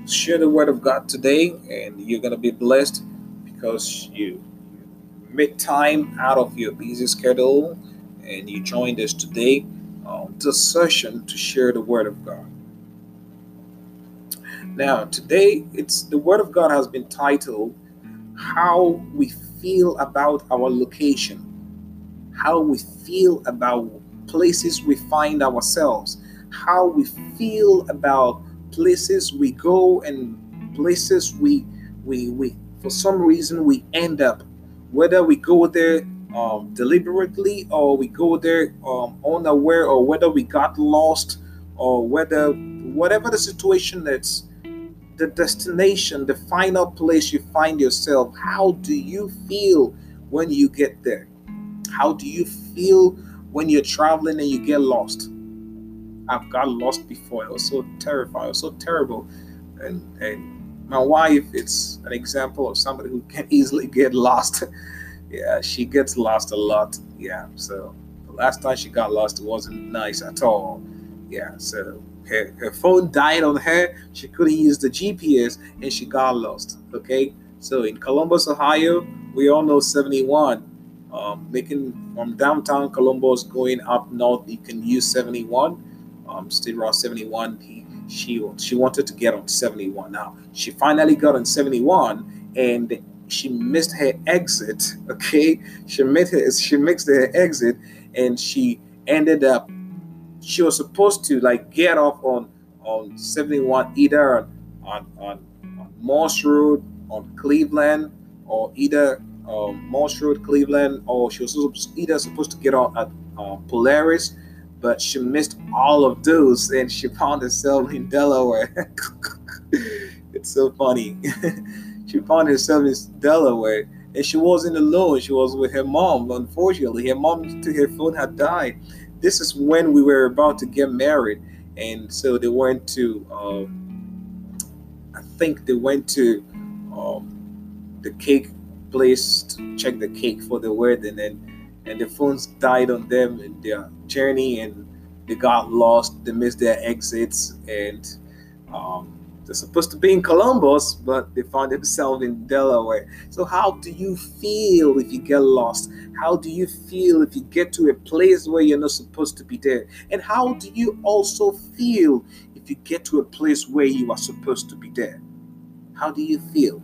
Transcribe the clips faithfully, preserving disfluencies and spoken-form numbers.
Share the word of God today, and you're going to be blessed because you made time out of your busy schedule and you joined us today on this session to share the word of God. Now, today, it's the word of God has been titled How We Feel About Our Location, how we feel about places we find ourselves, how we feel about places we go and places we we we for some reason we end up, whether we go there um, deliberately or we go there um, unaware, or whether we got lost, or whether whatever the situation that's the destination, the final place you find yourself. How do you feel when you get there? How do you feel when you're traveling and you get lost? I've got lost before. It was so terrifying. It was so terrible. And and my wife, it's an example of somebody who can easily get lost. Yeah, she gets lost a lot. Yeah. So the last time she got lost, it wasn't nice at all. Yeah. So her, her phone died on her. She couldn't use the G P S and she got lost. Okay. So in Columbus, Ohio, we all know seventy-one. Um, making from downtown Columbus going up north, you can use seventy-one. Um, State Route seventy-one. He, she she wanted to get on seventy-one. Now she finally got on seventy-one, and she missed her exit. Okay, she missed her she missed her exit, and she ended up. She was supposed to like get off on on seventy-one, either on on, on, on Morse Road, on Cleveland, or either um, Morse Road, Cleveland, or she was either supposed to get on at uh, Polaris, but she missed all of those and she found herself in Delaware. It's so funny. She found herself in Delaware, and she wasn't alone. She was with her mom. Unfortunately, her mom to her phone had died. This is when we were about to get married, and so they went to. Um, I think they went to um, the cake place to check the cake for the wedding, and and the phones died on them in their journey, and they got lost. They missed their exits, and um, they're supposed to be in Columbus, but they found themselves in Delaware. So, how do you feel if you get lost? How do you feel if you get to a place where you're not supposed to be there? And how do you also feel if you get to a place where you are supposed to be there? How do you feel?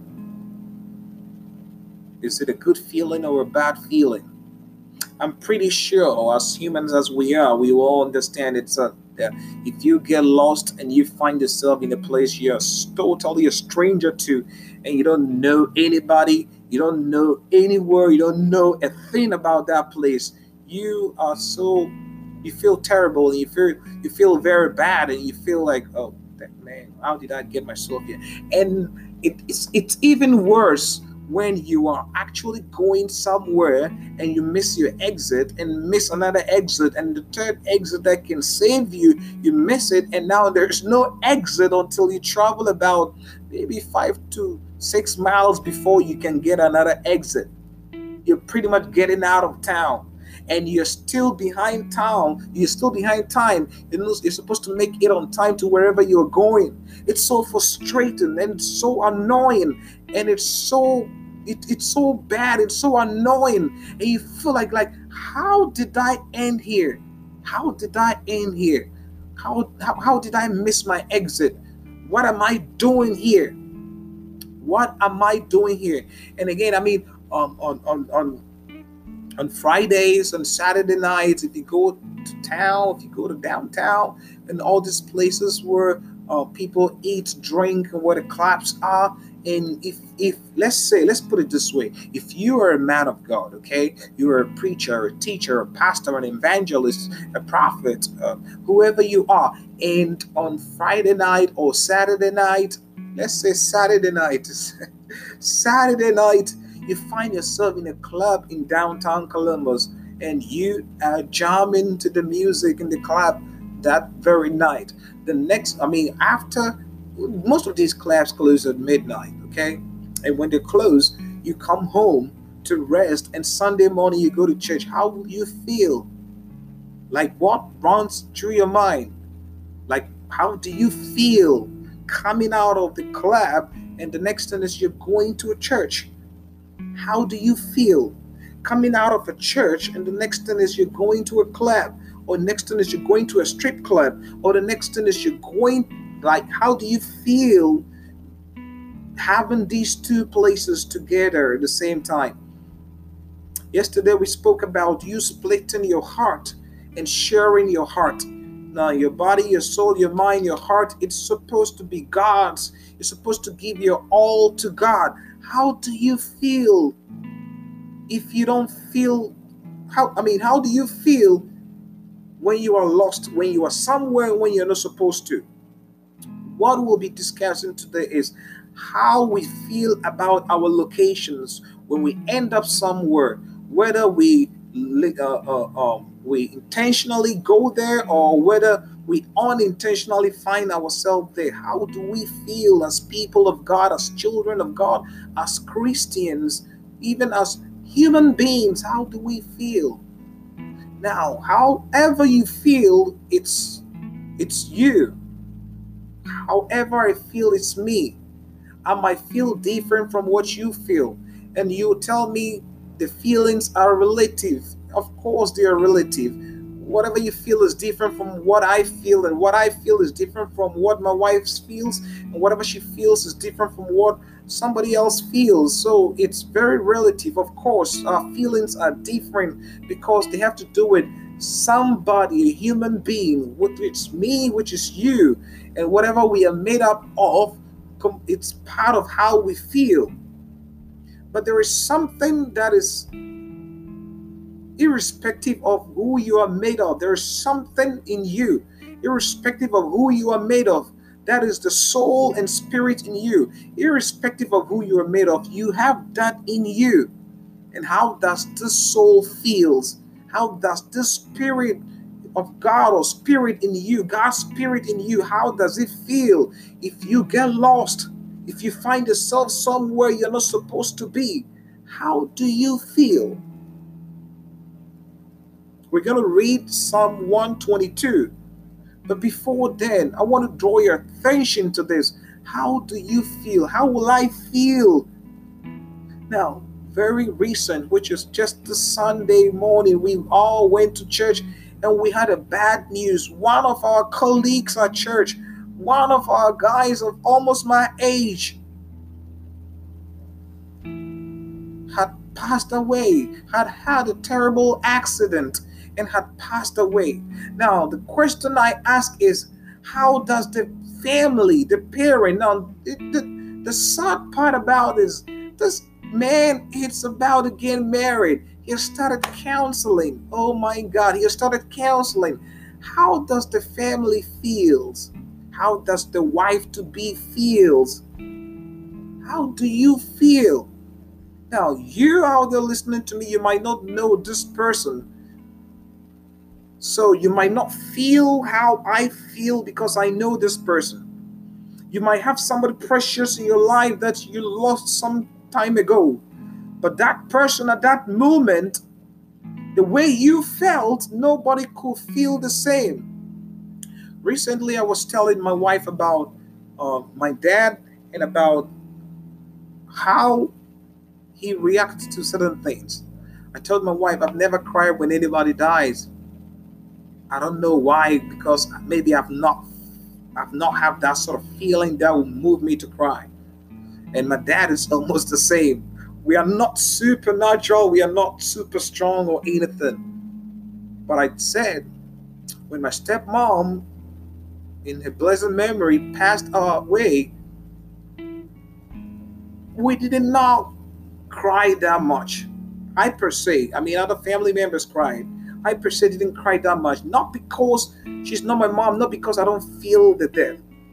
Is it a good feeling or a bad feeling? I'm pretty sure, as humans as we are, we all understand it's a that if you get lost and you find yourself in a place you're totally a stranger to, and you don't know anybody, you don't know anywhere, you don't know a thing about that place, you are so you feel terrible, and you feel you feel very bad, and you feel like, oh man, how did I get myself here? And it, it's it's even worse when you are actually going somewhere and you miss your exit and miss another exit, and the third exit that can save you, you miss it, and now there's no exit until you travel about maybe five to six miles before you can get another exit. You're pretty much getting out of town, and you're still behind town you're still behind time. You know, you're supposed to make it on time to wherever you're going. It's so frustrating and it's so annoying, and it's so it, it's so bad, it's so annoying, and you feel like like how did I end here? How did I end here? How, how, how did I miss my exit? What am I doing here? What am I doing here? And again, I mean, um, on on on on Fridays, on Saturday nights, if you go to town, if you go to downtown, and all these places where uh, people eat, drink, and where the clubs are. And if, if let's say, let's put it this way: if you are a man of God, okay, you are a preacher, a teacher, a pastor, an evangelist, a prophet, uh, whoever you are, and on Friday night or Saturday night, let's say Saturday night, Saturday night you find yourself in a club in downtown Columbus, and you are jamming to the music in the club that very night. The next, I mean, after most of these clubs close at midnight, okay? And when they close, you come home to rest, and Sunday morning you go to church. How will you feel? Like, what runs through your mind? Like, how do you feel coming out of the club, and the next thing is you're going to a church. How do you feel? Coming out of a church, and the next thing is you're going to a club, or next thing is you're going to a strip club, or the next thing is you're going, like, how do you feel having these two places together at the same time? Yesterday we spoke about you splitting your heart and sharing your heart. Now, your body, your soul, your mind, your heart, it's supposed to be God's. You're supposed to give your all to God. How do you feel if you don't feel, how, I mean, how do you feel when you are lost, when you are somewhere when you're not supposed to? What we'll be discussing today is how we feel about our locations when we end up somewhere, whether we uh, uh, um, we intentionally go there or whether we unintentionally find ourselves there. How do we feel as people of God, as children of God, as Christians, even as human beings? How do we feel? Now, however you feel, it's it's you. However I feel, it's me. I might feel different from what you feel. And you tell me the feelings are relative. Of course, they are relative. Whatever you feel is different from what I feel, and what I feel is different from what my wife feels, and whatever she feels is different from what somebody else feels. So it's very relative. Of course, our feelings are different because they have to do with somebody, a human being, which is me, which is you, and whatever we are made up of, it's part of how we feel. But there is something that is irrespective of who you are made of. There is something in you, irrespective of who you are made of. That is the soul and spirit in you. Irrespective of who you are made of, you have that in you. And how does this soul feels? How does this spirit of God or spirit in you, God's spirit in you, how does it feel if you get lost? If you find yourself somewhere you're not supposed to be, how do you feel? We're going to read Psalm one twenty-two. But before then, I want to draw your attention to this. How do you feel? How will I feel? Now, very recent, which is just the Sunday morning, we all went to church and we had a bad news. One of our colleagues at church, one of our guys of almost my age, had passed away, had had a terrible accident and had passed away. Now, the question I ask is, how does the family, the parent, now, the, the, the sad part about this, this man, it's about to get married. He started counseling. Oh my God, he started counseling. How does the family feels? How does the wife-to-be feels? How do you feel? Now, you out there listening to me, you might not know this person. So you might not feel how I feel because I know this person. You might have somebody precious in your life that you lost some time ago. But that person at that moment, the way you felt, nobody could feel the same. Recently, I was telling my wife about uh, my dad and about how he reacts to certain things. I told my wife, I've never cried when anybody dies. I don't know why, because maybe I've not I've not have that sort of feeling that will move me to cry. And my dad is almost the same. We are not supernatural, we are not super strong or anything. But I said, when my stepmom, in her blessed memory, passed away, we did not cry that much. I per se, I mean, other family members cried. I per se didn't cry that much. Not because she's not my mom, not because I don't feel the death.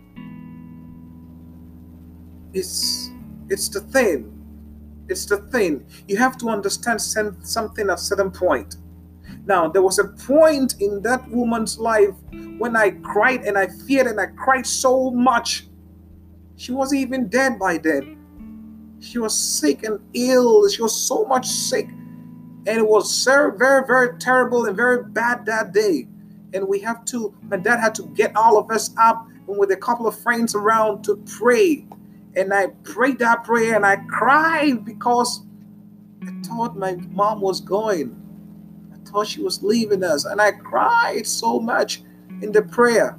It's, it's the thing. It's the thing. You have to understand something at a certain point. Now, there was a point in that woman's life when I cried and I feared and I cried so much. She wasn't even dead by then. She was sick and ill. She was so much sick. And it was very, very, very terrible and very bad that day. And we have to, my dad had to get all of us up with a couple of friends around to pray. And I prayed that prayer and I cried because I thought my mom was going. I thought she was leaving us. And I cried so much in the prayer.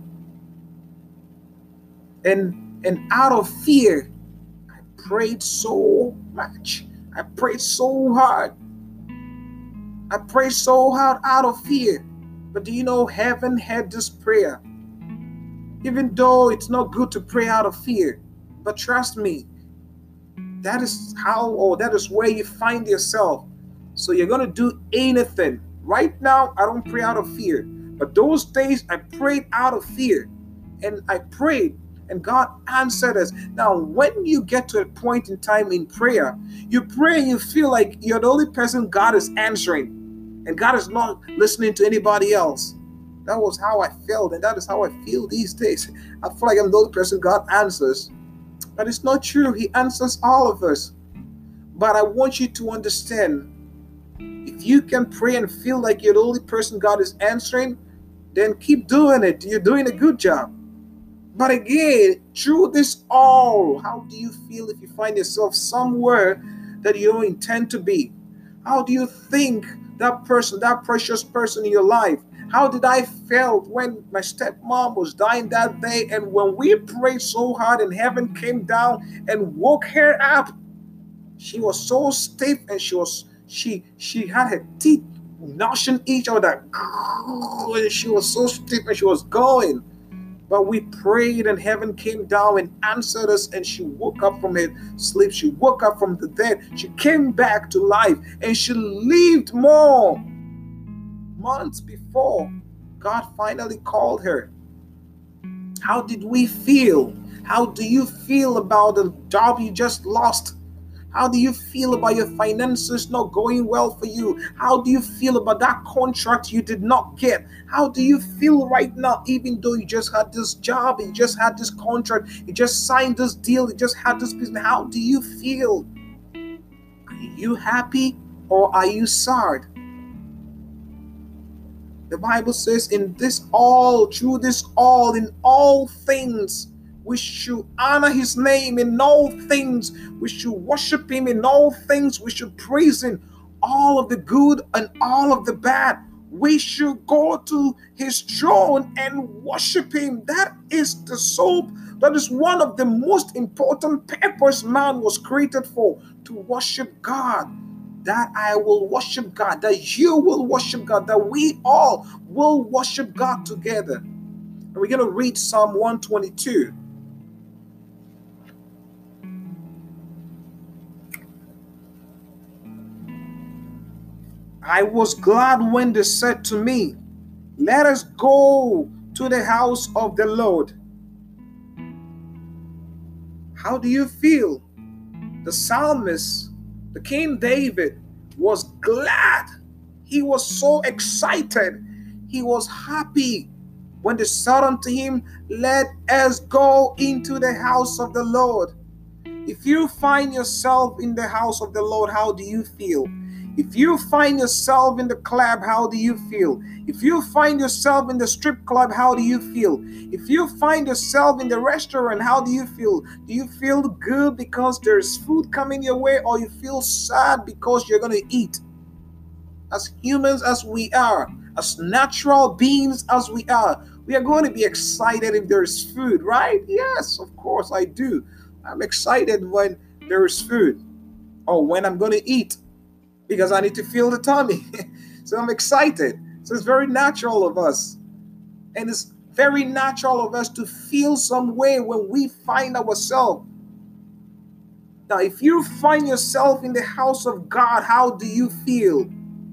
And, and out of fear, I prayed so much. I prayed so hard. I prayed so hard out of fear. But do you know, heaven heard this prayer? Even though it's not good to pray out of fear. But trust me, that is how, or that is where you find yourself. So you're going to do anything. Right now, I don't pray out of fear. But those days, I prayed out of fear. And I prayed, and God answered us. Now, when you get to a point in time in prayer, you pray and you feel like you're the only person God is answering. And God is not listening to anybody else. That was how I felt, and that is how I feel these days. I feel like I'm the only person God answers. But it's not true. He answers all of us. But I want you to understand, if you can pray and feel like you're the only person God is answering, then keep doing it. You're doing a good job. But again, through this all, how do you feel if you find yourself somewhere that you don't intend to be? How do you think that person, that precious person in your life, how did I felt when my stepmom was dying that day, and when we prayed so hard and heaven came down and woke her up? She was so stiff, and she was she she had her teeth gnashing each other. She was so stiff and she was going. But we prayed and heaven came down and answered us, and she woke up from her sleep. She woke up from the dead. She came back to life, and she lived more. Months before God finally called her. How did we feel? How do you feel about the job you just lost? How do you feel about your finances not going well for you? How do you feel about that contract you did not get? How do you feel right now, even though you just had this job, you just had this contract, you just signed this deal, you just had this business? How do you feel? Are you happy or are you sad? The Bible says, in this all, through this all, in all things, we should honor his name. In all things, we should worship him. In all things, we should praise him. All of the good and all of the bad, we should go to his throne and worship him. That is the soul. That is one of the most important purpose man was created for, to worship God. That I will worship God, that you will worship God, that we all will worship God together. And we're going to read Psalm one twenty-two. I was glad when they said to me, let us go to the house of the Lord. How do you feel? The psalmist, the King David, was glad. He was so excited. He was happy when they said unto him, let us go into the house of the Lord. If you find yourself in the house of the Lord, how do you feel? If you find yourself in the club, how do you feel? If you find yourself in the strip club, how do you feel? If you find yourself in the restaurant, how do you feel? Do you feel good because there's food coming your way, or you feel sad because you're going to eat? As humans as we are, as natural beings as we are, we are going to be excited if there's food, right? Yes, of course I do. I'm excited when there is food, or when I'm going to eat, because I need to fill the tummy. So I'm excited. So it's very natural of us. And it's very natural of us to feel some way when we find ourselves. Now, if you find yourself in the house of God, how do you feel?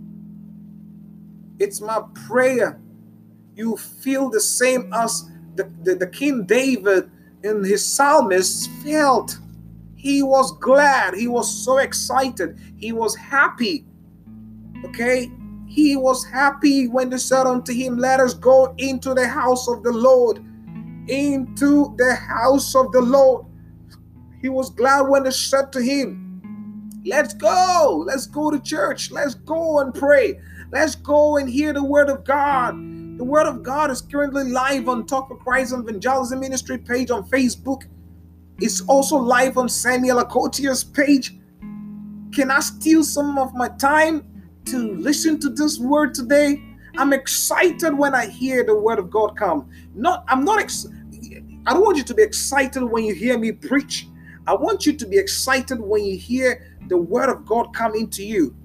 It's my prayer you feel the same as the, the, the King David in his psalmist felt. He was glad. He was so excited. He was happy. Okay? He was happy when they said unto him, let us go into the house of the Lord. Into the house of the Lord. He was glad when they said to him, let's go. Let's go to church. Let's go and pray. Let's go and hear the word of God. The Word of God is currently live on Talk for Christ Evangelism Ministry page on Facebook. It's also live on Samuel Akotier's page. Can I steal some of my time to listen to this word today? I'm excited when I hear the Word of God come. Not, I'm not. Ex- I don't want you to be excited when you hear me preach. I want you to be excited when you hear the Word of God come into you.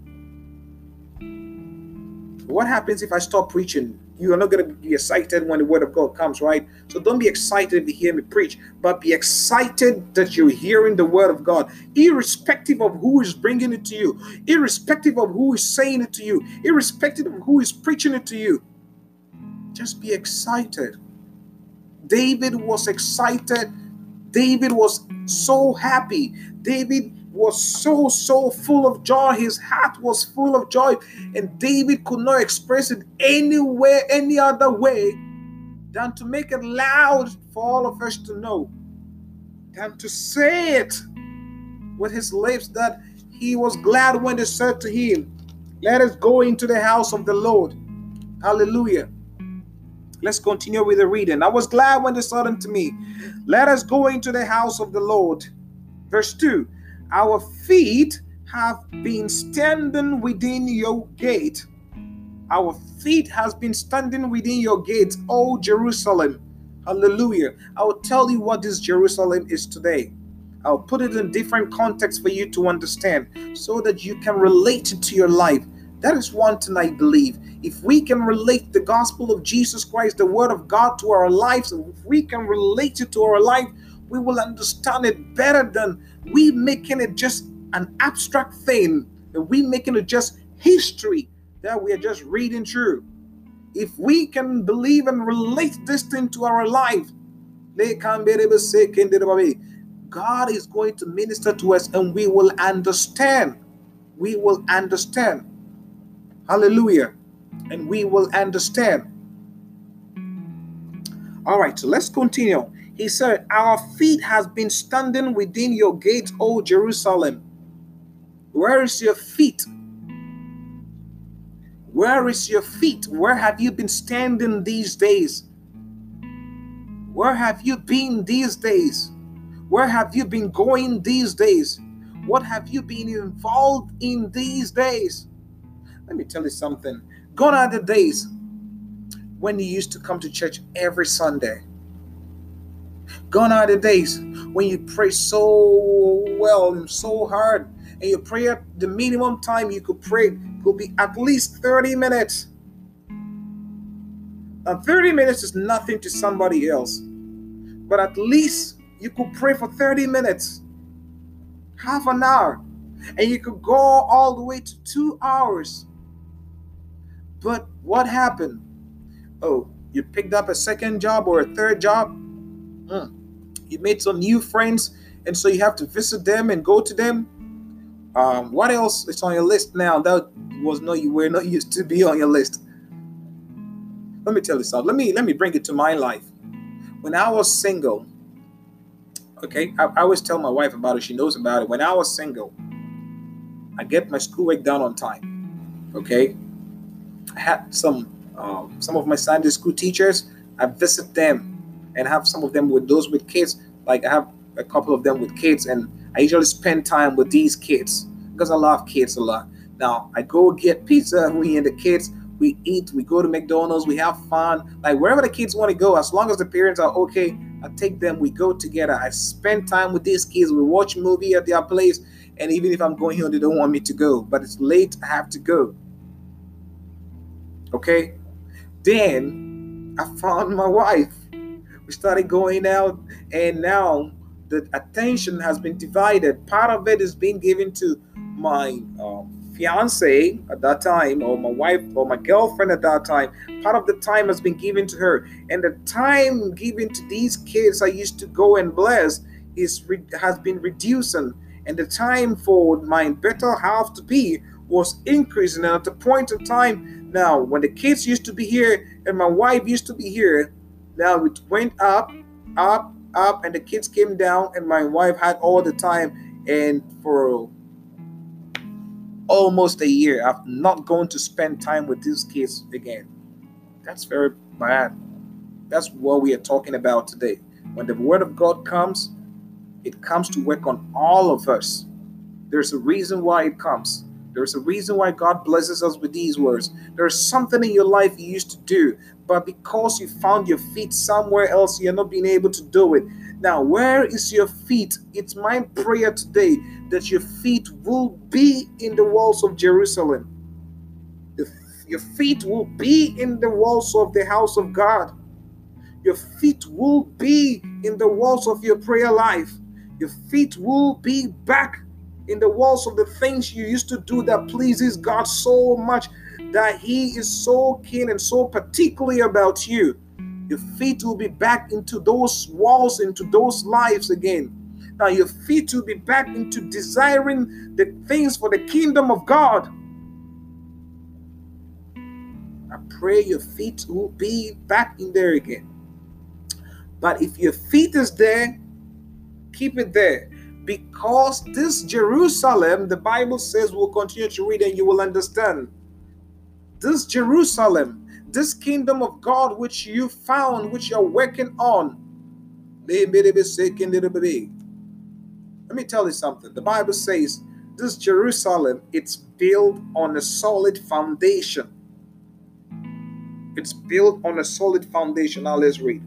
What happens if I stop preaching? You are not going to be excited when the Word of God comes, right? So don't be excited if you hear me preach, but be excited that you're hearing the Word of God, irrespective of who is bringing it to you, irrespective of who is saying it to you, irrespective of who is preaching it to you. Just be excited. David was excited. David was so happy. David was so, so full of joy. His heart was full of joy. And David could not express it anywhere, any other way than to make it loud for all of us to know. Than to say it with his lips that he was glad when they said to him, "Let us go into the house of the Lord." Hallelujah. Let's continue with the reading. I was glad when they said unto me, "Let us go into the house of the Lord." Verse two, our feet have been standing within your gate. Our feet has been standing within your gates, O Jerusalem. Hallelujah. I will tell you what this Jerusalem is today. I'll put it in different contexts for you to understand so that you can relate it to your life. That is one thing I believe. If we can relate the gospel of Jesus Christ, the Word of God, to our lives, if we can relate it to our life, we will understand it better than we making it just an abstract thing, and we making it just history that we are just reading through. If we can believe and relate this thing to our life, God is going to minister to us and we will understand. We will understand. Hallelujah. And we will understand. All right, so let's continue. He said, our feet has been standing within your gates, O Jerusalem. Where is your feet? Where is your feet? Where have you been standing these days? Where have you been these days? Where have you been going these days? What have you been involved in these days? Let me tell you something. Gone are the days when you used to come to church every Sunday. Gone are the days when you pray so well and so hard, and you pray at the minimum time you could pray could be at least thirty minutes. Now, thirty minutes is nothing to somebody else, but at least you could pray for thirty minutes, half an hour, and you could go all the way to two hours. But what happened? Oh, you picked up a second job or a third job? Mm. You made some new friends, and so you have to visit them and go to them. Um, what else is on your list now? That was no, you were not used to be on your list. Let me tell you something. Let me let me bring it to my life. When I was single, okay, I, I always tell my wife about it. She knows about it. When I was single, I get my schoolwork done on time. Okay, I had some um, some of my Sunday school teachers. I visit them and have some of them with those with kids. Like I have a couple of them with kids, and I usually spend time with these kids because I love kids a lot. Now I go get pizza. We and the kids, we eat. We go to McDonald's. We have fun. Like wherever the kids want to go, as long as the parents are okay, I take them. We go together. I spend time with these kids. We watch movie at their place. And even if I'm going here, they don't want me to go. But it's late. I have to go. Okay. Then I found my wife. We started going out, and now the attention has been divided. Part of it is being given to my um, fiance at that time, or my wife, or my girlfriend at that time. Part of the time has been given to her, and the time given to these kids I used to go and bless is re- has been reducing, and the time for my better half to be was increasing. And at the point of time now, when the kids used to be here and my wife used to be here, now it went up, up, up, and the kids came down, and my wife had all the time. And for almost a year, I've not going to spend time with these kids again. That's very bad. That's what we are talking about today. When the word of God comes, it comes to work on all of us. There's a reason why it comes. There's a reason why God blesses us with these words. There's something in your life you used to do, but because you found your feet somewhere else, you're not being able to do it. Now, where is your feet? It's my prayer today that your feet will be in the walls of Jerusalem. Your feet will be in the walls of the house of God. Your feet will be in the walls of your prayer life. Your feet will be back in the walls of the things you used to do that pleases God so much that He is so keen and so particularly about you. Your feet will be back into those walls, into those lives again. Now your feet will be back into desiring the things for the kingdom of God. I pray your feet will be back in there again. But if your feet is there, keep it there. Because this Jerusalem, the Bible says, we'll continue to read and you will understand. This Jerusalem, this kingdom of God which you found, which you're working on. Let me tell you something. The Bible says this Jerusalem, it's built on a solid foundation. It's built on a solid foundation. Now let's read.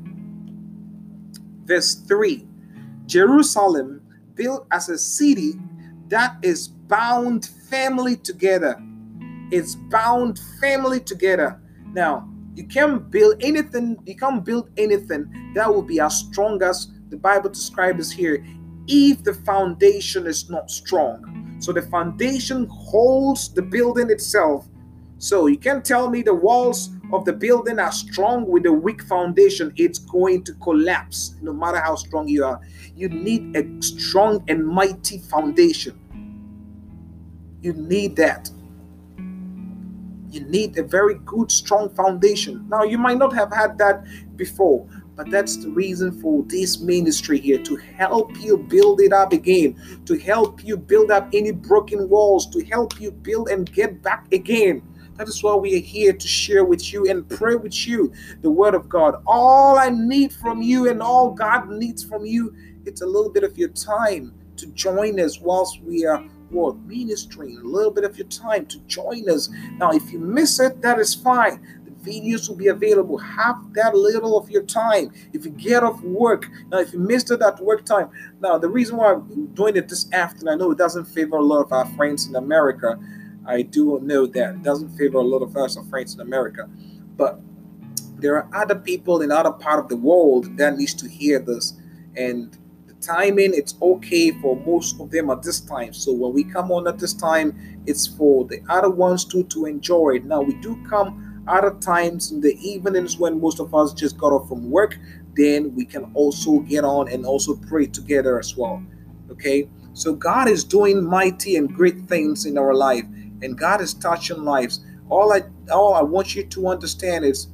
Verse three. Jerusalem, built as a city that is bound firmly together. It's bound firmly together. Now, you can't build anything, you can't build anything that will be as strong as the Bible describes here if the foundation is not strong. So the foundation holds the building itself. So you can't tell me the walls of the building are strong with a weak foundation. It's going to collapse no matter how strong you are. You need a strong and mighty foundation. You need that. You need a very good, strong foundation. Now, you might not have had that before, but that's the reason for this ministry here, to help you build it up again, to help you build up any broken walls, to help you build and get back again. That is why we are here, to share with you and pray with you the word of God. All I need from you and all God needs from you, it's a little bit of your time to join us whilst we are what, ministering. A little bit of your time to join us. Now, if you miss it, that is fine. The videos will be available. Have that little of your time. If you get off work, now if you missed it at work time, now the reason why I'm doing it this afternoon, I know it doesn't favor a lot of our friends in America. I do know that it doesn't favor a lot of us, our friends in America, but there are other people in other part of the world that needs to hear this, and the timing, it's okay for most of them at this time. So when we come on at this time, it's for the other ones too to enjoy it. Now we do come other times in the evenings when most of us just got off from work. Then we can also get on and also pray together as well. Okay, so God is doing mighty and great things in our life. And God is touching lives. All I all I want you to understand is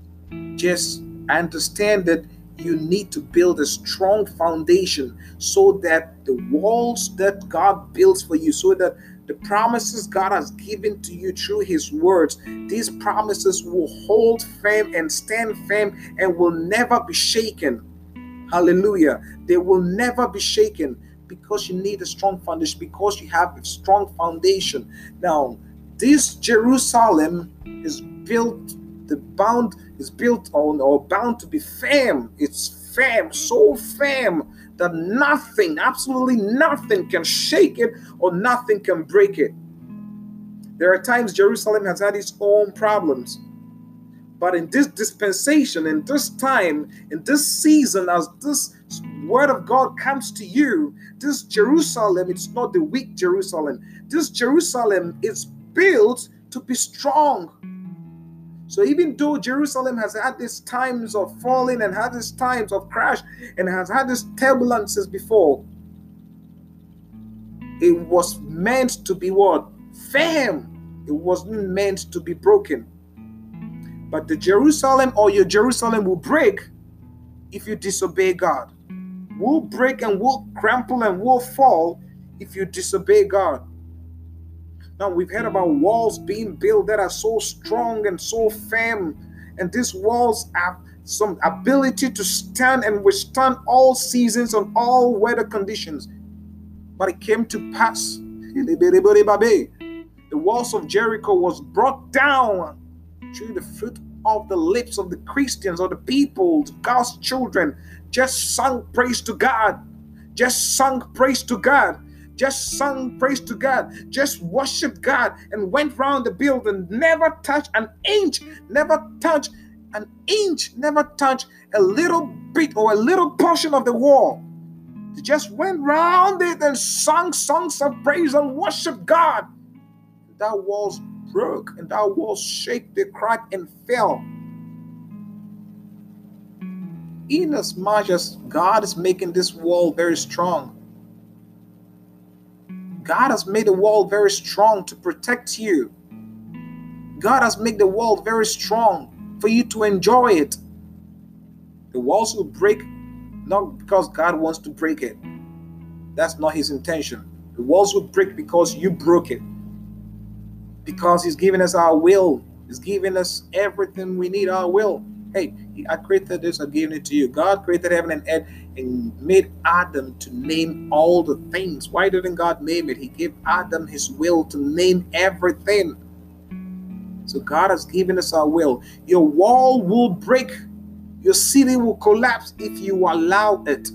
just understand that you need to build a strong foundation so that the walls that God builds for you, so that the promises God has given to you through His words, these promises will hold firm and stand firm and will never be shaken. Hallelujah. They will never be shaken. Because you need a strong foundation, because you have a strong foundation. Now, this Jerusalem is built, the bound is built on or bound to be firm. It's firm, so firm that nothing, absolutely nothing can shake it or nothing can break it. There are times Jerusalem has had its own problems. But in this dispensation, in this time, in this season, as this word of God comes to you, this Jerusalem, it's not the weak Jerusalem. This Jerusalem is built to be strong. So even though Jerusalem has had these times of falling and had these times of crash and has had these turbulences before, it was meant to be what? Firm. It wasn't meant to be broken. But the Jerusalem or your Jerusalem will break if you disobey God. Will break and will crumple and will fall if you disobey God. Now we've heard about walls being built that are so strong and so firm and these walls have some ability to stand and withstand all seasons and all weather conditions. But it came to pass, the walls of Jericho was brought down through the fruit of the lips of the Christians or the people, God's children, just sung praise to God, just sung praise to God, just sung praise to God, just worshiped God and went round the building, never touched an inch, never touched an inch, never touched a little bit or a little portion of the wall. They just went round it and sung songs of praise and worshiped God. That walls broke and that walls shake, they cracked and fell. Inasmuch as God is making this wall very strong, God has made the wall very strong to protect you. God has made the wall very strong for you to enjoy it. The walls will break not because God wants to break it. That's not his intention. The walls will break because you broke it. Because he's giving us our will. He's giving us everything we need, our will. Hey, I created this, I'm giving it to you. God created heaven and earth and made Adam to name all the things. Why didn't God name it? He gave Adam his will to name everything. So God has given us our will. Your wall will break. Your city will collapse if you allow it.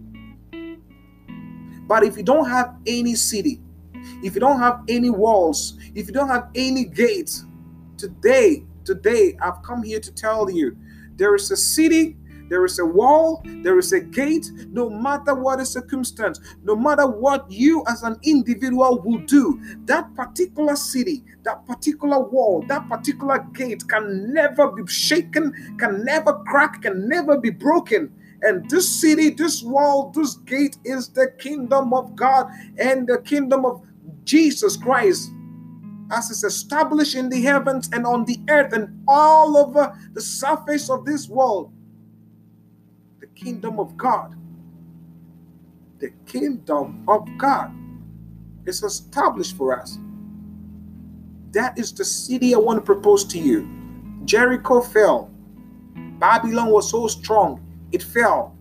But if you don't have any city, if you don't have any walls, if you don't have any gates, today, today, I've come here to tell you, there is a city, there is a wall, there is a gate, no matter what the circumstance, no matter what you as an individual will do, that particular city, that particular wall, that particular gate can never be shaken, can never crack, can never be broken. And this city, this wall, this gate is the kingdom of God and the kingdom of Jesus Christ, as is established in the heavens and on the earth and all over the surface of this world. The kingdom of God. The kingdom of God is established for us. That is the city I want to propose to you. Jericho fell. Babylon was so strong, it fell.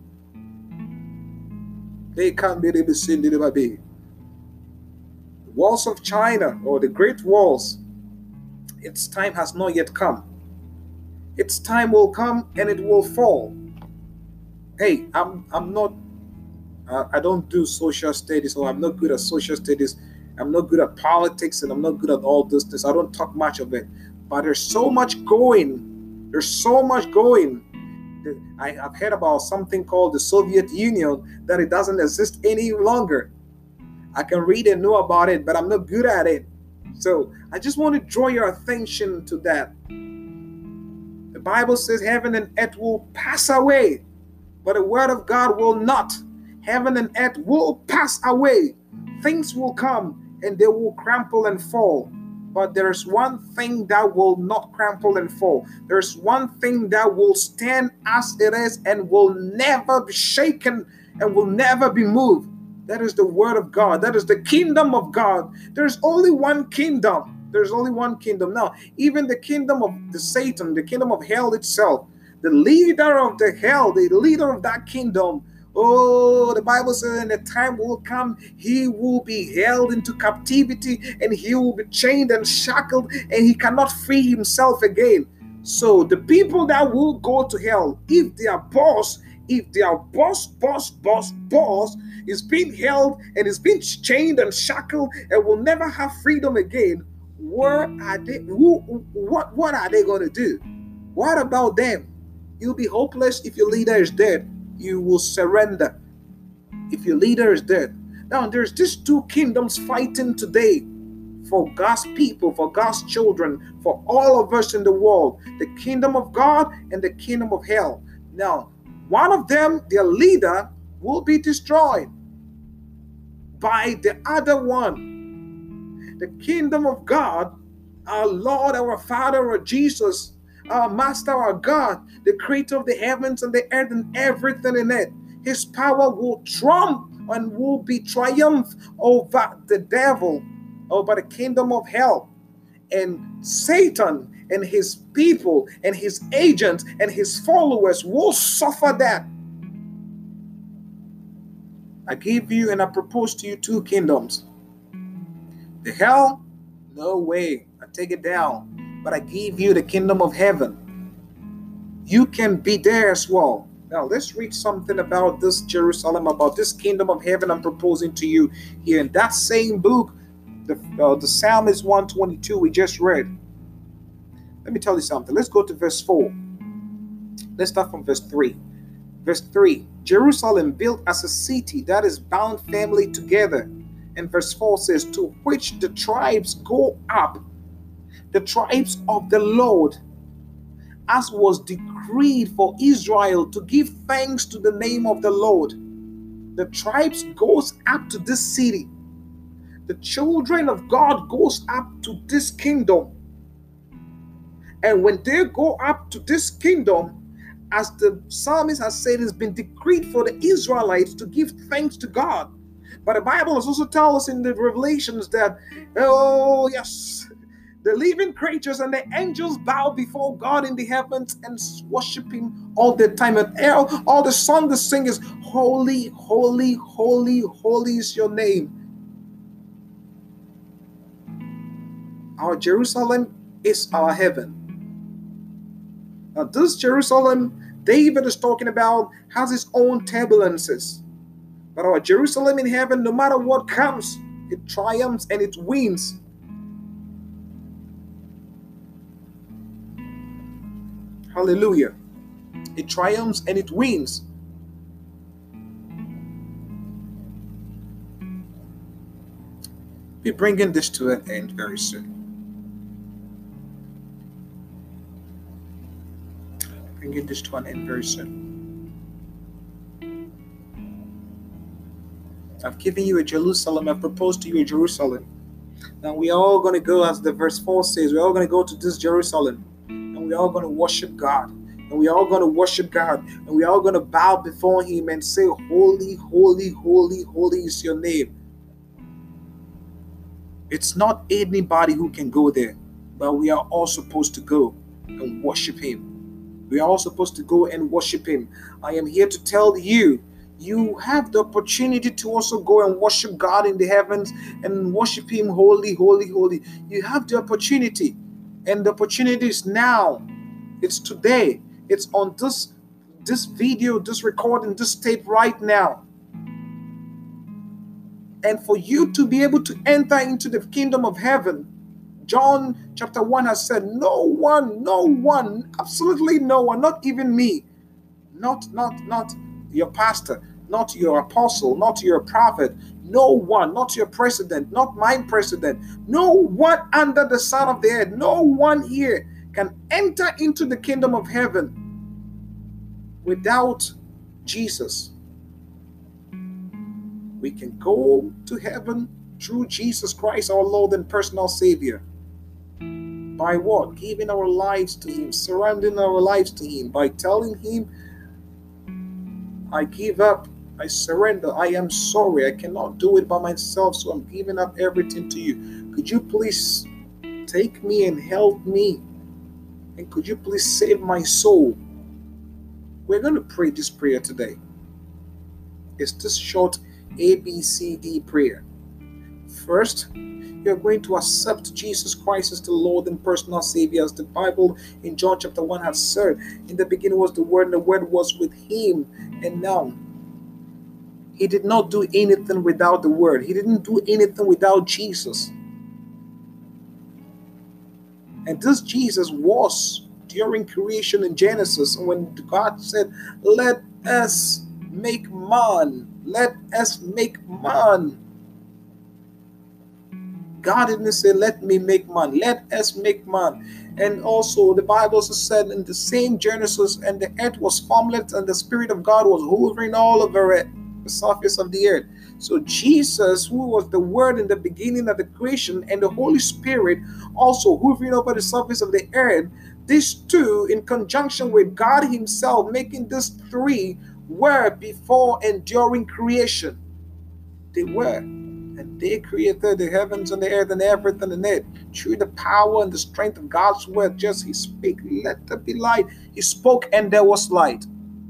They can't be able to send it baby. Walls of China or the great walls, its time has not yet come. Its time will come and it will fall. Hey, I'm I'm not uh, I don't do social studies, or I'm not good at social studies. I'm not good at politics, and I'm not good at all this. this. I don't talk much of it. But there's so much going. There's so much going. I, I've heard about something called the Soviet Union, that it doesn't exist any longer. I can read and know about it, but I'm not good at it. So I just want to draw your attention to that. The Bible says heaven and earth will pass away, but the word of God will not. Heaven and earth will pass away. Things will come and they will crumple and fall. But there's one thing that will not crumple and fall. There's one thing that will stand as it is and will never be shaken and will never be moved. That is the word of God. That is the kingdom of God. There's only one kingdom. There's only one kingdom. Now, even the kingdom of the Satan, the kingdom of hell itself, the leader of the hell, the leader of that kingdom, oh, the Bible says in the time will come, he will be held into captivity and he will be chained and shackled and he cannot free himself again. So the people that will go to hell, if their boss, if their boss, boss, boss, boss is being held and is being chained and shackled and will never have freedom again, where are they? Who, what, what are they going to do? What about them? You'll be hopeless if your leader is dead. You will surrender if your leader is dead. Now, there's these two kingdoms fighting today for God's people, for God's children, for all of us in the world. The kingdom of God and the kingdom of hell. Now, one of them, their leader, will be destroyed by the other one. The kingdom of God, our Lord, our Father, our Jesus, our Master, our God, the creator of the heavens and the earth and everything in it. His power will trump and will be triumph over the devil, over the kingdom of hell. And Satan and his people and his agents and his followers will suffer that. I give you and I propose to you two kingdoms. The hell? No way. I take it down. But I give you the kingdom of heaven. You can be there as well. Now let's read something about this Jerusalem, about this kingdom of heaven I'm proposing to you here in that same book, the, uh, the Psalm is one twenty-two we just read. Let me tell you something. Let's go to verse four. Let's start from verse three. Verse three, Jerusalem built as a city that is bound firmly together. And verse four says, to which the tribes go up, the tribes of the Lord, as was decreed for Israel to give thanks to the name of the Lord. The tribes goes up to this city. The children of God goes up to this kingdom. And when they go up to this kingdom, as the psalmist has said, it's been decreed for the Israelites to give thanks to God. But the Bible has also told us in the Revelations that, oh yes, the living creatures and the angels bow before God in the heavens and worship him all the time. And all, all the song they sing is, holy, holy, holy, holy is your name. Our Jerusalem is our heaven. Now this Jerusalem David is talking about has its own turbulences. But our Jerusalem in heaven, no matter what comes, it triumphs and it wins. Hallelujah. It triumphs and it wins. We're bringing this to an end very soon. Bringing this to an end very soon. I've given you a Jerusalem. I've proposed to you a Jerusalem. Now we are all going to go, as the verse four says, we're all going to go to this Jerusalem. And we're all going to worship God. And we're all going to worship God. And we're all going to bow before him and say, holy, holy, holy, holy is your name. It's not anybody who can go there. But we are all supposed to go and worship him. We are all supposed to go and worship him. I am here to tell you, you have the opportunity to also go and worship God in the heavens and worship him holy, holy, holy. You have the opportunity. And the opportunity is now. It's today. It's on this, this video, this recording, this tape right now. And for you to be able to enter into the kingdom of heaven, John chapter one has said, no one, no one, absolutely no one, not even me, not, not, not your pastor, not your apostle, not your prophet, no one, not your president, not my president, no one under the sun of the earth, no one here can enter into the kingdom of heaven without Jesus. We can go to heaven through Jesus Christ, our Lord and personal Savior. By what? Giving our lives to him, surrendering our lives to him, by telling him, I give up, I surrender, I am sorry, I cannot do it by myself, so I'm giving up everything to you. Could you please take me and help me? And could you please save my soul? We're going to pray this prayer today. It's this short A B C D prayer. First, you're going to accept Jesus Christ as the Lord and personal Savior, as the Bible in John chapter one has said. In the beginning was the Word, and the Word was with him. And now, he did not do anything without the Word. He didn't do anything without Jesus. And this Jesus was during creation in Genesis, when God said, let us make man. Let us make man. God didn't say, let me make man. Let us make man. And also the Bible also said in the same Genesis, and the earth was formless and the Spirit of God was hovering all over it, the surface of the earth. So Jesus, who was the Word in the beginning of the creation, and the Holy Spirit also hovering over the surface of the earth, these two in conjunction with God himself, making these three, were before and during creation. They were. And they created the heavens and the earth and everything in it through the power and the strength of God's word. Just He speak, let there be light. He spoke and there was light.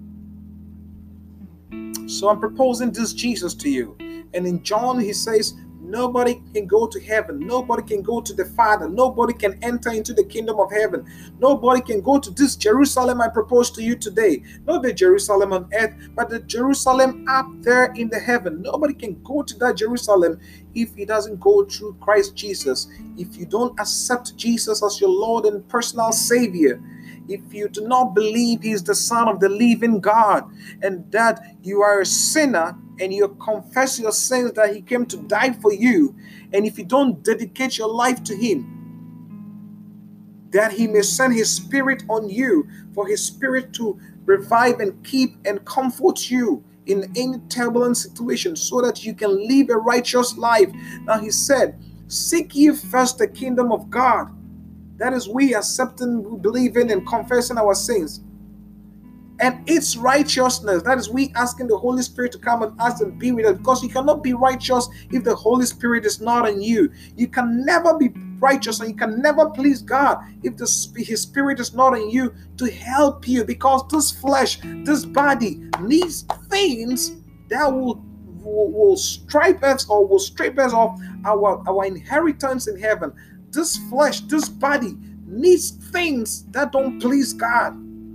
So I'm proposing this Jesus to you. And in John, He says, nobody can go to heaven. Nobody can go to the Father. Nobody can enter into the kingdom of heaven. Nobody can go to this Jerusalem I propose to you today. Not the Jerusalem on earth, but the Jerusalem up there in the heaven. Nobody can go to that Jerusalem if he doesn't go through Christ Jesus. If you don't accept Jesus as your Lord and personal Savior, if you do not believe He is the Son of the living God, and that you are a sinner, and you confess your sins, that He came to die for you, and if you don't dedicate your life to Him, that He may send His Spirit on you, for His Spirit to revive and keep and comfort you in any turbulent situation, so that you can live a righteous life. Now He said, seek ye first the kingdom of God. That is, we accepting, believing, and confessing our sins, and its righteousness. That is, we asking the Holy Spirit to come and ask and be with us, because you cannot be righteous if the Holy Spirit is not in you. You can never be righteous, and you can never please God if the, His Spirit is not in you to help you, because this flesh, this body needs things that will, will, will stripe us or will strip us off our, our inheritance in heaven. This flesh, this body needs things that don't please God.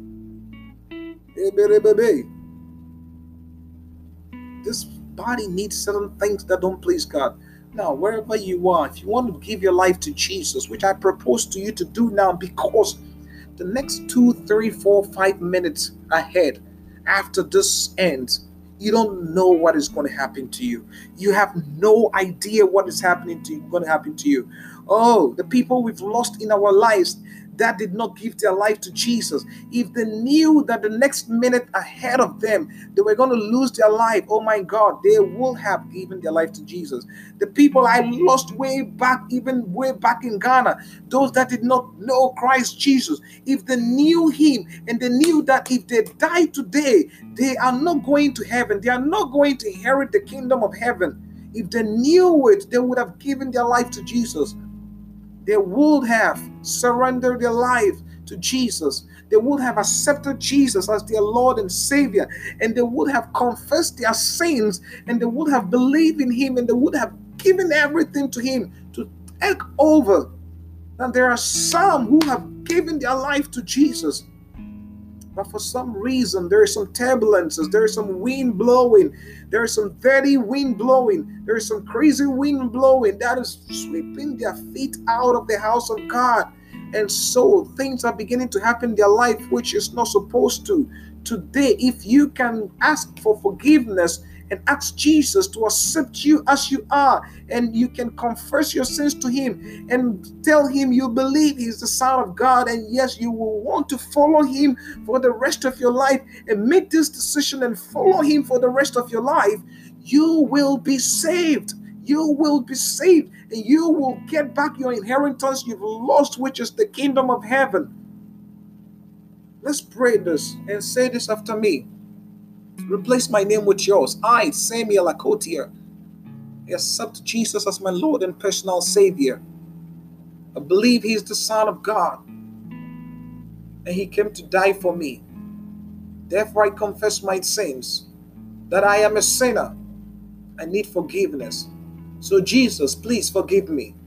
This body needs certain things that don't please God. Now, wherever you are, if you want to give your life to Jesus, which I propose to you to do now, because the next two, three, four, five minutes ahead, after this ends, you don't know what is going to happen to you. You have no idea what is happening to you, going to happen to you. Oh, the people we've lost in our lives that did not give their life to Jesus, if they knew that the next minute ahead of them they were going to lose their life, oh my God, they would have given their life to Jesus. The people I lost way back, even way back in Ghana, those that did not know Christ Jesus, if they knew Him and they knew that if they die today, they are not going to heaven, they are not going to inherit the kingdom of heaven. If they knew it, they would have given their life to Jesus. They would have surrendered their life to Jesus. They would have accepted Jesus as their Lord and Savior. And they would have confessed their sins. And they would have believed in Him. And they would have given everything to Him to take over. Now there are some who have given their life to Jesus, but for some reason, there is some turbulences, there is some wind blowing, there is some dirty wind blowing, there is some crazy wind blowing that is sweeping their feet out of the house of God. And so things are beginning to happen in their life which is not supposed to. Today, if you can ask for forgiveness and ask Jesus to accept you as you are, and you can confess your sins to Him and tell Him you believe He's the Son of God, and yes, you will want to follow Him for the rest of your life, and make this decision and follow Him for the rest of your life, you will be saved. You will be saved, and you will get back your inheritance you've lost, which is the kingdom of heaven. Let's pray this and say this after me. Replace my name with yours. I, Samuel Akotia, accept Jesus as my Lord and personal Savior. I believe He is the Son of God, and He came to die for me. Therefore, I confess my sins, that I am a sinner. I need forgiveness. So Jesus, please forgive me.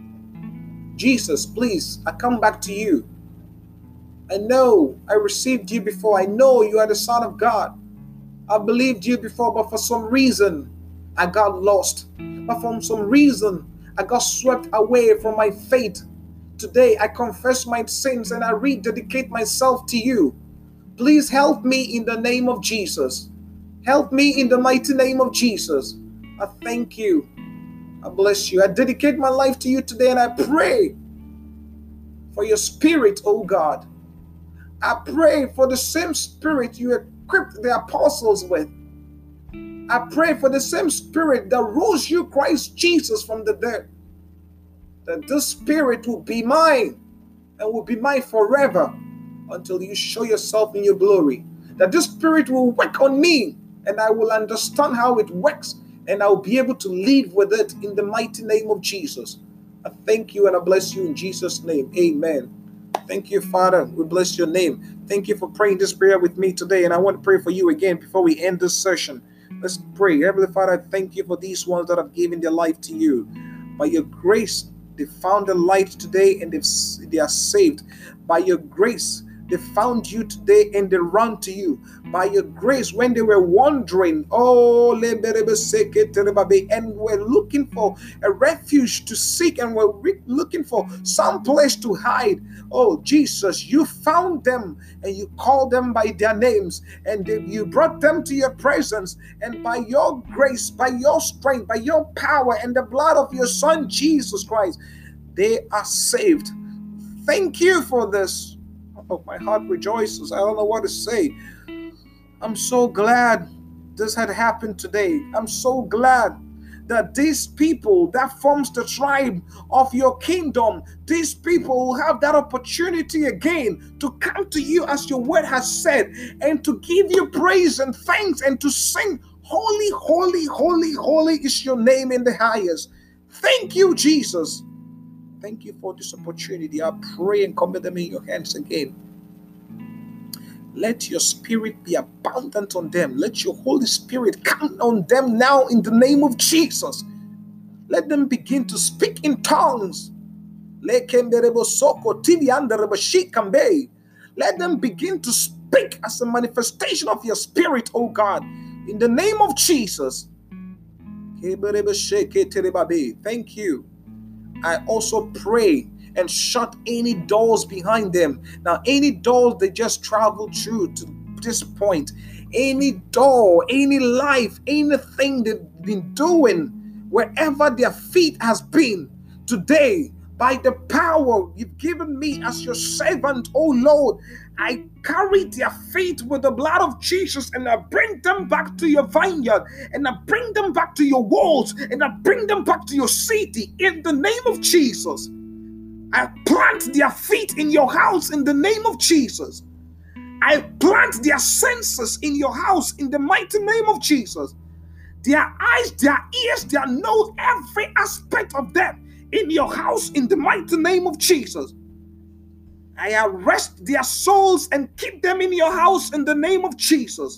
Jesus, please, I come back to you. I know I received you before. I know you are the Son of God. I believed you before, but for some reason, I got lost. But for some reason, I got swept away from my faith. Today, I confess my sins and I rededicate myself to you. Please help me in the name of Jesus. Help me in the mighty name of Jesus. I thank you. I bless you. I dedicate my life to you today, and I pray for your Spirit, oh God. I pray for the same Spirit you equipped the apostles with. I pray for the same Spirit that rose you, Christ Jesus, from the dead. That this Spirit will be mine and will be mine forever until you show yourself in your glory. That this Spirit will work on me and I will understand how it works, and I'll be able to live with it in the mighty name of Jesus. I thank you and I bless you in Jesus' name. Amen. Thank you, Father. We bless your name. Thank you for praying this prayer with me today. And I want to pray for you again before we end this session. Let's pray. Heavenly Father, I thank you for these ones that have given their life to you. By your grace, they found the light today and they've, they are saved. By your grace, they found you today and they run to you. By your grace, when they were wandering, oh, and were looking for a refuge to seek and were looking for some place to hide. Oh, Jesus, you found them and you called them by their names and you brought them to your presence. And by your grace, by your strength, by your power and the blood of your Son, Jesus Christ, they are saved. Thank you for this. Oh, my heart rejoices. I don't know what to say. I'm so glad this had happened today. I'm so glad that these people that forms the tribe of your kingdom, these people will have that opportunity again to come to you as your word has said and to give you praise and thanks and to sing, holy, holy, holy, holy is your name in the highest. Thank you, Jesus. Thank you for this opportunity. I pray and commit them in your hands again. Let your spirit be abundant on them. Let your Holy Spirit come on them now in the name of Jesus. Let them begin to speak in tongues. Let them begin to speak as a manifestation of your spirit, oh God, in the name of Jesus. Thank you. I also pray and shut any doors behind them. Now, any doors they just traveled through to this point, any door, any life, anything they've been doing, wherever their feet has been, today, by the power you've given me as your servant, oh Lord, I carry their feet with the blood of Jesus and I bring them back to your vineyard and I bring them back to your walls and I bring them back to your city in the name of Jesus. I plant their feet in your house in the name of Jesus. I plant their senses in your house in the mighty name of Jesus. Their eyes, their ears, their nose, every aspect of them in your house in the mighty name of Jesus. I arrest their souls and keep them in your house in the name of Jesus.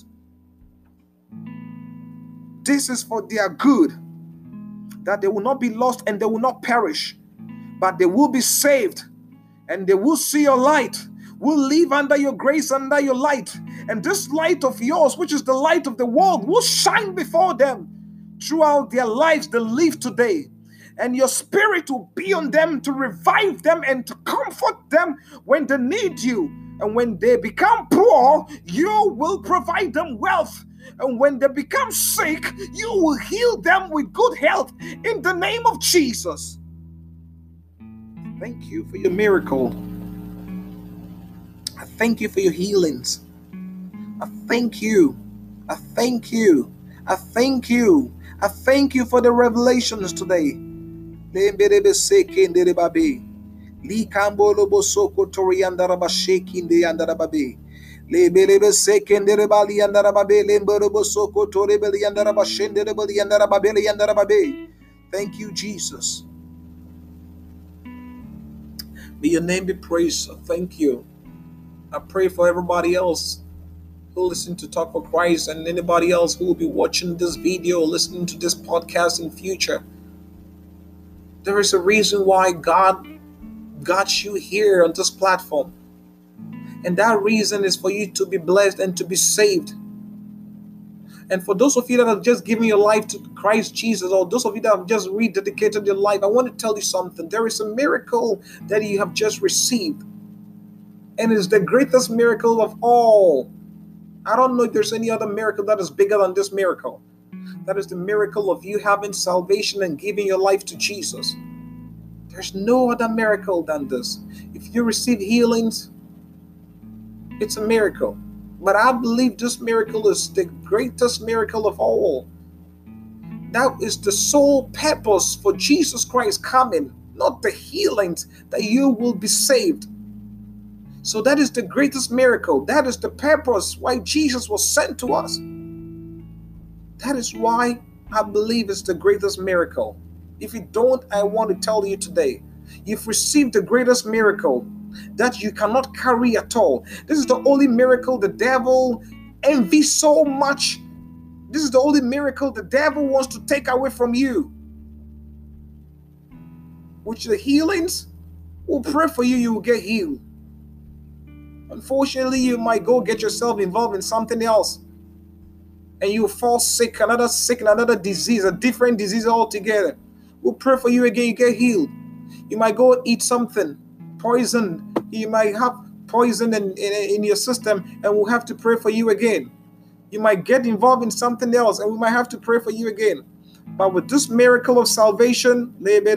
This is for their good, that they will not be lost and they will not perish, but they will be saved and they will see your light, will live under your grace, under your light. And this light of yours, which is the light of the world, will shine before them throughout their lives they live today. And your spirit will be on them to revive them and to comfort them when they need you. And when they become poor, you will provide them wealth. And when they become sick, you will heal them with good health in the name of Jesus. Thank you for your miracle. I thank you for your healings. I thank you. I thank you. I thank you. I thank you for the revelations today. Thank you, Jesus. May your name be praised. Thank you. I pray for everybody else who listen to Talk for Christ and anybody else who will be watching this video, listening to this podcast in future. There is a reason why God got you here on this platform. And that reason is for you to be blessed and to be saved. And for those of you that have just given your life to Christ Jesus, or those of you that have just rededicated your life, I want to tell you something. There is a miracle that you have just received. And it's the greatest miracle of all. I don't know if there's any other miracle that is bigger than this miracle. That is the miracle of you having salvation and giving your life to Jesus. There's no other miracle than this. If you receive healings, it's a miracle. But I believe this miracle is the greatest miracle of all. That is the sole purpose for Jesus Christ coming, not the healings, that you will be saved. So that is the greatest miracle. That is the purpose why Jesus was sent to us. That is why I believe it's the greatest miracle. If you don't, I want to tell you today, you've received the greatest miracle that you cannot carry at all. This is the only miracle the devil envies so much. This is the only miracle the devil wants to take away from you. Which the healings, we'll pray for you, you will get healed. Unfortunately, you might go get yourself involved in something else, and you fall sick, another sick, another disease, a different disease altogether. We'll pray for you again, you get healed. You might go eat something, poison. You might have poison in, in, in your system, and we'll have to pray for you again. You might get involved in something else, and we might have to pray for you again. But with this miracle of salvation,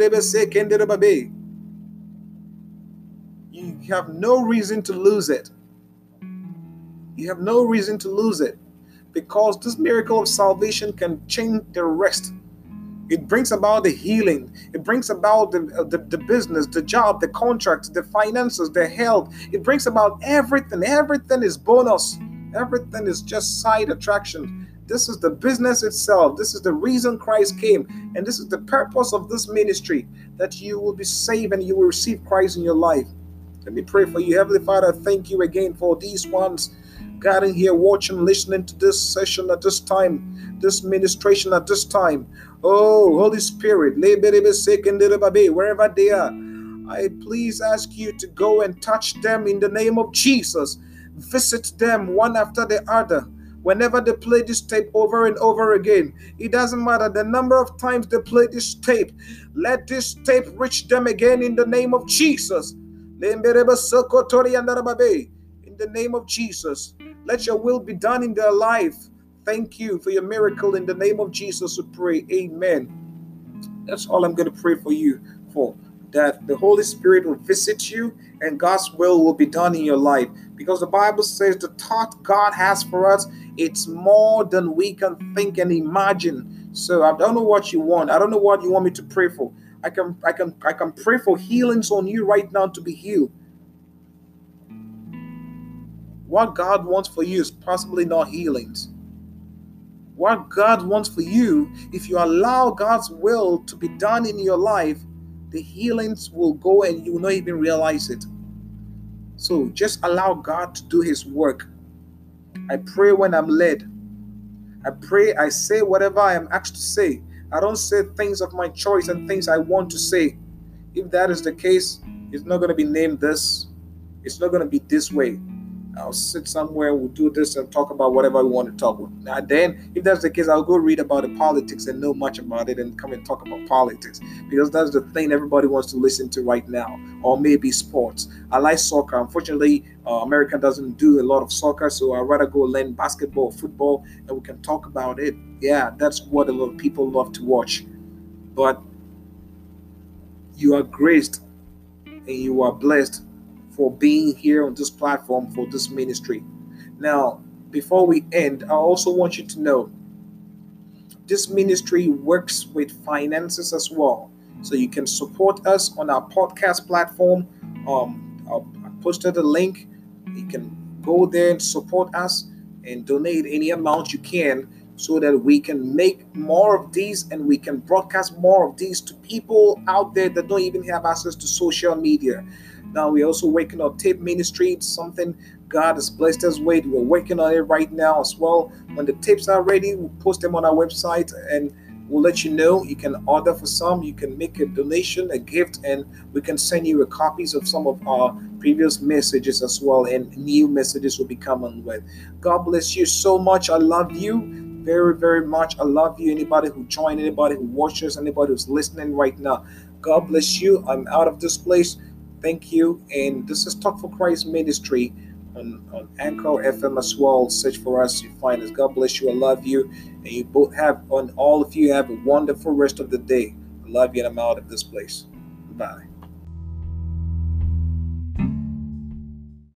you have no reason to lose it. You have no reason to lose it, because this miracle of salvation can change the rest. It brings about the healing. It brings about the, the, the business, the job, the contracts, the finances, the health. It brings about everything. Everything is bonus. Everything is just side attraction. This is the business itself. This is the reason Christ came. And this is the purpose of this ministry, that you will be saved and you will receive Christ in your life. Let me pray for you. Heavenly Father, thank you again for these ones gathering here, watching, listening to this session at this time, this ministration at this time. Oh, Holy Spirit, wherever they are, I please ask you to go and touch them in the name of Jesus. Visit them one after the other. Whenever they play this tape over and over again, it doesn't matter the number of times they play this tape. Let this tape reach them again in the name of Jesus. In the name of Jesus, let your will be done in their life. Thank you for your miracle. In the name of Jesus, we pray. Amen. That's all I'm going to pray for you for. That the Holy Spirit will visit you and God's will will be done in your life. Because the Bible says the thought God has for us, it's more than we can think and imagine. So I don't know what you want. I don't know what you want me to pray for. I can I can I can pray for healings on you right now to be healed. What God wants for you is possibly not healings. What God wants for you, if you allow God's will to be done in your life, the healings will go and you will not even realize it. So just allow God to do his work. I pray when I'm led. I pray, I say whatever I am asked to say. I don't say things of my choice and things I want to say. If that is the case, it's not going to be named this. It's not going to be this way. I'll sit somewhere, we'll do this and talk about whatever we want to talk about. Now then, if that's the case, I'll go read about the politics and know much about it and come and talk about politics. Because that's the thing everybody wants to listen to right now. Or maybe sports. I like soccer. Unfortunately, uh, America doesn't do a lot of soccer, so I'd rather go learn basketball or football and we can talk about it. Yeah, that's what a lot of people love to watch. But you are graced and you are blessed for being here on this platform for this ministry. Now, before we end, I also want you to know this ministry works with finances as well. So you can support us on our podcast platform. Um, I'll, I posted a link. You can go there and support us and donate any amount you can so that we can make more of these and we can broadcast more of these to people out there that don't even have access to social media. Now we're also working on tape ministry. It's something God has blessed us with. We're working on it right now as well. When the tapes are ready, we'll post them on our website and we'll let you know. You can order for some. You can make a donation, a gift, and we can send you a copies of some of our previous messages as well. And new messages will be coming with. God bless you so much. I love you very, very much. I love you. Anybody who joined, anybody who watches, anybody who's listening right now. God bless you. I'm out of this place. Thank you. And this is Talk for Christ Ministry on, on Anchor F M as well. Search for us. You find us. God bless you. I love you. And you both have, on all of you, have a wonderful rest of the day. I love you and I'm out of this place. Bye.